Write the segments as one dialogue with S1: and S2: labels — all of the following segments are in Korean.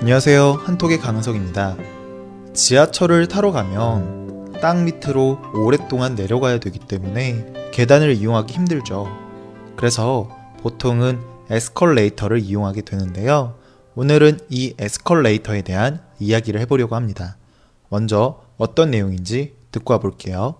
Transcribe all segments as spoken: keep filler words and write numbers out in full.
S1: 안녕하세요, 한톡의 강은석입니다. 지하철을 타러 가면 땅 밑으로 오랫동안 내려가야 되기 때문에 계단을 이용하기 힘들죠. 그래서 보통은 에스컬레이터를 이용하게 되는데요. 오늘은 이 에스컬레이터에 대한 이야기를 해보려고 합니다. 먼저 어떤 내용인지 듣고 와볼게요.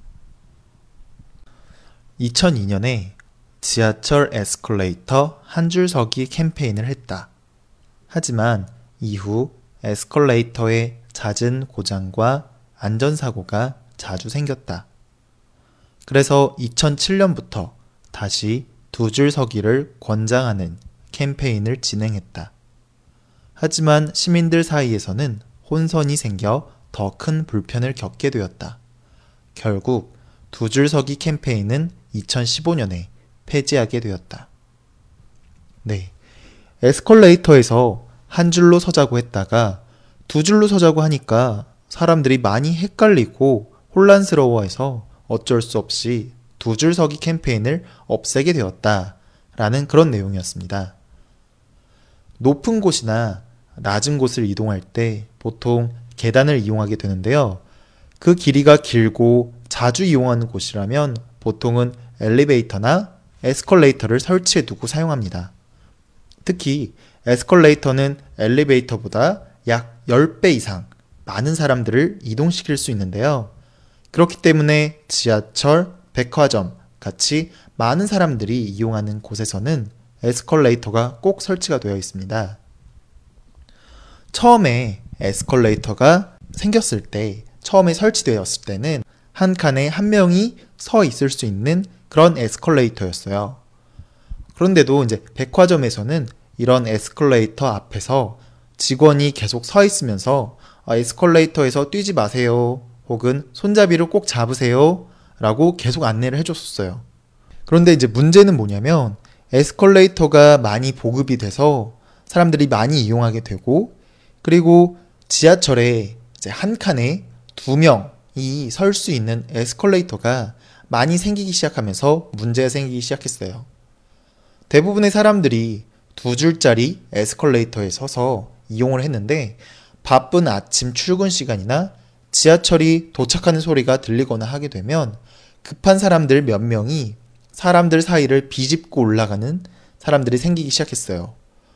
S1: 이천이 년에 지하철 에스컬레이터 한 줄 서기 캠페인을 했다. 하지만 이후 에스컬레이터의 잦은 고장과 안전사고가 자주 생겼다. 그래서 이천칠 년부터 다시 두 줄 서기를 권장하는 캠페인을 진행했다. 하지만 시민들 사이에서는 혼선이 생겨 더 큰 불편을 겪게 되었다. 결국 두 줄 서기 캠페인은 이천십오 년에 폐지하게 되었다. 네, 에스컬레이터에서 한 줄로 서자고 했다가 두 줄로 서자고 하니까 사람들이 많이 헷갈리고 혼란스러워해서 어쩔 수 없이 두 줄 서기 캠페인을 없애게 되었다라는 그런 내용이었습니다. 높은 곳이나 낮은 곳을 이동할 때 보통 계단을 이용하게 되는데요. 그 길이가 길고 자주 이용하는 곳이라면 보통은 엘리베이터나 에스컬레이터를 설치해 두고 사용합니다. 특히 에스컬레이터는 엘리베이터보다 약 십 배 이상 많은 사람들을 이동시킬 수 있는데요. 그렇기 때문에 지하철, 백화점 같이 많은 사람들이 이용하는 곳에서는 에스컬레이터가 꼭 설치가 되어 있습니다. 처음에 에스컬레이터가 생겼을 때, 처음에 설치되었을 때는 한 칸에 한 명이 서 있을 수 있는 그런 에스컬레이터였어요. 그런데도 이제 백화점에서는 이런 에스컬레이터 앞에서 직원이 계속 서 있으면서 아, 에스컬레이터에서 뛰지 마세요, 혹은 손잡이를 꼭 잡으세요 라고 계속 안내를 해줬었어요. 그런데 이제 문제는 뭐냐면 에스컬레이터가 많이 보급이 돼서 사람들이 많이 이용하게 되고, 그리고 지하철에 이제 한 칸에 두 명이 설 수 있는 에스컬레이터가 많이 생기기 시작하면서 문제가 생기기 시작했어요. 대부분의 사람들이 두 줄짜리 에스컬레이터에 서서 이용을 했는데 바쁜 아침 출근 시간이나 지하철이 도착하는 소리가 들리거나 하게 되면 급한 사람들 몇 명이 사람들 사이를 비집고 올라가는 사람들이 생기기 시작했어요.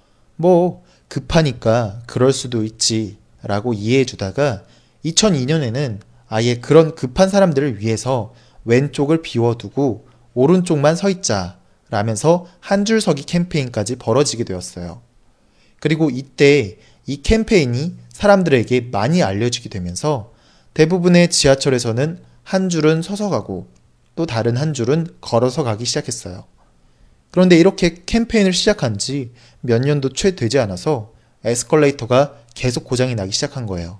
S1: 뭐 급하니까 그럴 수도 있지 라고 이해해 주다가 이천이 년에는 아예 그런 급한 사람들을 위해서 왼쪽을 비워두고 오른쪽만 서 있자 라면서 한 줄 서기 캠페인까지 벌어지게 되었어요. 그리고 이때 이 캠페인이 사람들에게 많이 알려지게 되면서 대부분의 지하철에서는 한 줄은 서서 가고 또 다른 한 줄은 걸어서 가기 시작했어요. 그런데 이렇게 캠페인을 시작한 지 몇 년도 채 되지 않아서 에스컬레이터가 계속 고장이 나기 시작한 거예요.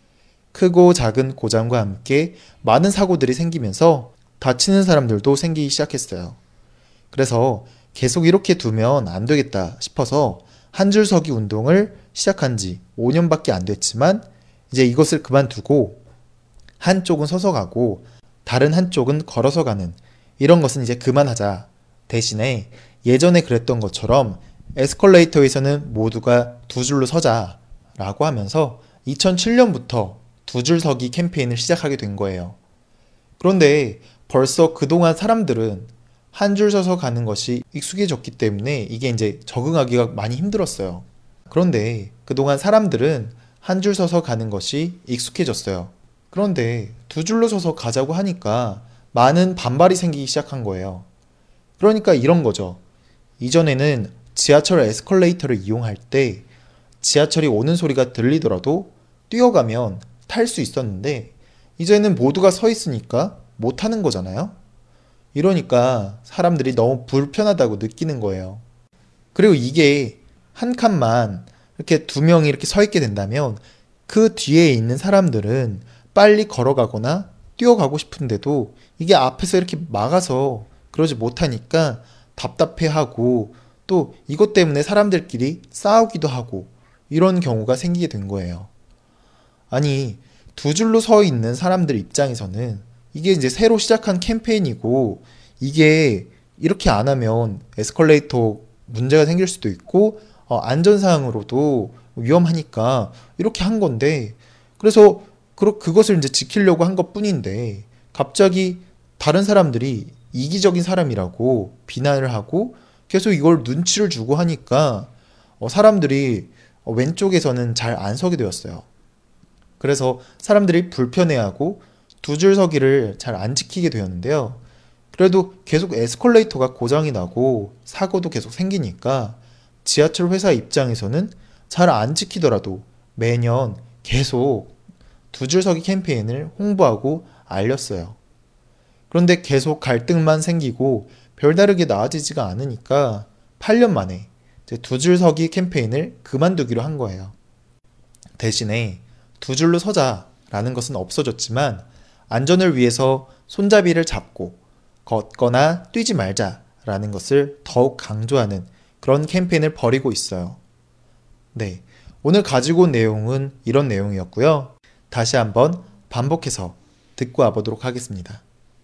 S1: 크고 작은 고장과 함께 많은 사고들이 생기면서 다치는 사람들도 생기기 시작했어요. 그래서 계속 이렇게 두면 안 되겠다 싶어서 한 줄 서기 운동을 시작한 지 오 년밖에 안 됐지만 이제 이것을 그만두고 한쪽은 서서 가고 다른 한쪽은 걸어서 가는 이런 것은 이제 그만하자. 대신에 예전에 그랬던 것처럼 에스컬레이터에서는 모두가 두 줄로 서자 라고 하면서 이천칠 년부터 두 줄 서기 캠페인을 시작하게 된 거예요. 그런데 벌써 그동안 사람들은 한 줄 서서 가는 것이 익숙해졌기 때문에 이게 이제 적응하기가 많이 힘들었어요. 그런데 그동안 사람들은 한 줄 서서 가는 것이 익숙해졌어요. 그런데 두 줄로 서서 가자고 하니까 많은 반발이 생기기 시작한 거예요. 그러니까 이런 거죠. 이전에는 지하철 에스컬레이터를 이용할 때 지하철이 오는 소리가 들리더라도 뛰어가면 탈 수 있었는데 이제는 모두가 서 있으니까 못 타는 거잖아요. 이러니까 사람들이 너무 불편하다고 느끼는 거예요. 그리고 이게 한 칸만 이렇게 두 명이 이렇게 서 있게 된다면 그 뒤에 있는 사람들은 빨리 걸어가거나 뛰어가고 싶은데도 이게 앞에서 이렇게 막아서 그러지 못하니까 답답해하고 또 이것 때문에 사람들끼리 싸우기도 하고 이런 경우가 생기게 된 거예요. 아니, 두 줄로 서 있는 사람들 입장에서는 이게 이제 새로 시작한 캠페인이고 이게 이렇게 안 하면 에스컬레이터 문제가 생길 수도 있고 어, 안전상으로도 위험하니까 이렇게 한 건데, 그래서 그, 그것을 이제 지키려고 한 것뿐인데 갑자기 다른 사람들이 이기적인 사람이라고 비난을 하고 계속 이걸 눈치를 주고 하니까 어, 사람들이 어, 왼쪽에서는 잘 안 서게 되었어요. 그래서 사람들이 불편해하고 두 줄 서기를 잘 안 지키게 되었는데요. 그래도 계속 에스컬레이터가 고장이 나고 사고도 계속 생기니까 지하철 회사 입장에서는 잘 안 지키더라도 매년 계속 두 줄 서기 캠페인을 홍보하고 알렸어요. 그런데 계속 갈등만 생기고 별다르게 나아지지가 않으니까 팔 년 만에 두 줄 서기 캠페인을 그만두기로 한 거예요. 대신에 두 줄로 서자라는 것은 없어졌지만 안전을 위해서 손잡이를 잡고 걷거나 뛰지 말자라는 것을 더욱 강조하는 그런 캠페인을 벌이고 있어요. 네, 오늘 가지고 온 내용은 이런 내용이었고요. 다시 한번 반복해서 듣고 와보도록 하겠습니다.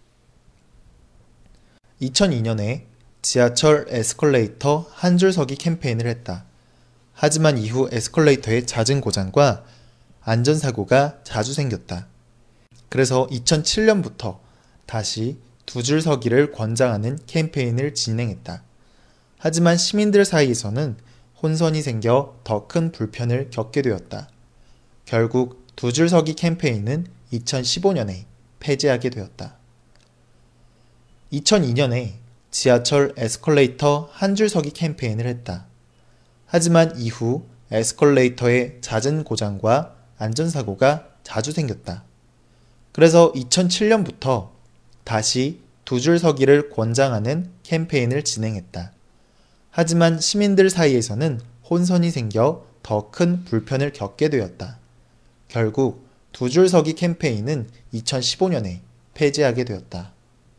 S1: 이천이 년에 지하철 에스컬레이터 한 줄 서기 캠페인을 했다. 하지만 이후 에스컬레이터의 잦은 고장과 안전사고가 자주 생겼다. 그래서 이천칠 년부터 다시 두 줄 서기를 권장하는 캠페인을 진행했다. 하지만 시민들 사이에서는 혼선이 생겨 더 큰 불편을 겪게 되었다. 결국 두 줄 서기 캠페인은 이천십오 년에 폐지하게 되었다. 이천이 년에 지하철 에스컬레이터 한 줄 서기 캠페인을 했다. 하지만 이후 에스컬레이터의 잦은 고장과 안전사고가 자주 생겼다. 그래서 이천칠 년부터 다시 두 줄 서기를 권장하는 캠페인을 진행했다. 하지만 시민들 사이에서는 혼선이 생겨 더 큰 불편을 겪게 되었다. 결국 두 줄 서기 캠페인은 이천십오 년에 폐지하게 되었다.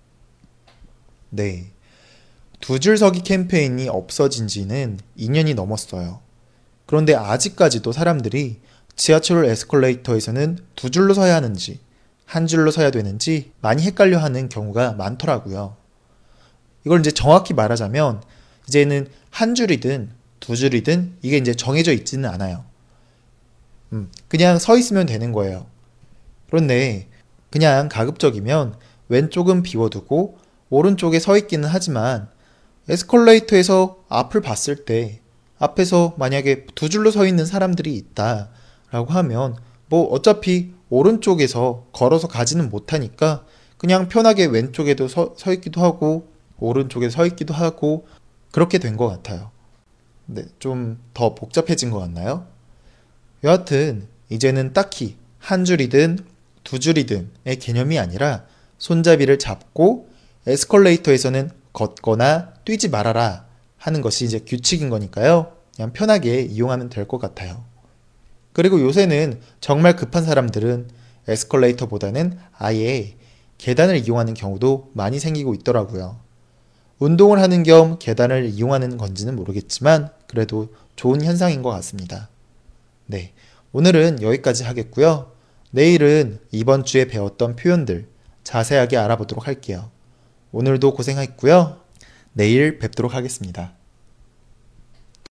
S1: 네, 두 줄 서기 캠페인이 없어진 지는 이 년이 넘었어요. 그런데 아직까지도 사람들이 지하철 에스컬레이터에서는 두 줄로 서야 하는지 한 줄로 서야 되는지 많이 헷갈려 하는 경우가 많더라고요. 이걸 이제 정확히 말하자면 이제는 한 줄이든 두 줄이든 이게 이제 정해져 있지는 않아요. 음, 그냥 서 있으면 되는 거예요. 그런데 그냥 가급적이면 왼쪽은 비워두고 오른쪽에 서 있기는 하지만 에스컬레이터에서 앞을 봤을 때 앞에서 만약에 두 줄로 서 있는 사람들이 있다라고 하면 뭐 어차피 오른쪽에서 걸어서 가지는 못하니까 그냥 편하게 왼쪽에도 서, 서 있기도 하고 오른쪽에 서 있기도 하고 그렇게 된 것 같아요. 네, 좀 더 복잡해진 것 같나요? 여하튼 이제는 딱히 한 줄이든 두 줄이든의 개념이 아니라 손잡이를 잡고 에스컬레이터에서는 걷거나 뛰지 말아라 하는 것이 이제 규칙인 거니까요. 그냥 편하게 이용하면 될 것 같아요. 그리고 요새는 정말 급한 사람들은 에스컬레이터보다는 아예 계단을 이용하는 경우도 많이 생기고 있더라고요. 운동을 하는 겸 계단을 이용하는 건지는 모르겠지만 그래도 좋은 현상인 것 같습니다. 네, 오늘은 여기까지 하겠고요. 내일은 이번 주에 배웠던 표현들 자세하게 알아보도록 할게요. 오늘도 고생했고요. 내일 뵙도록 하겠습니다.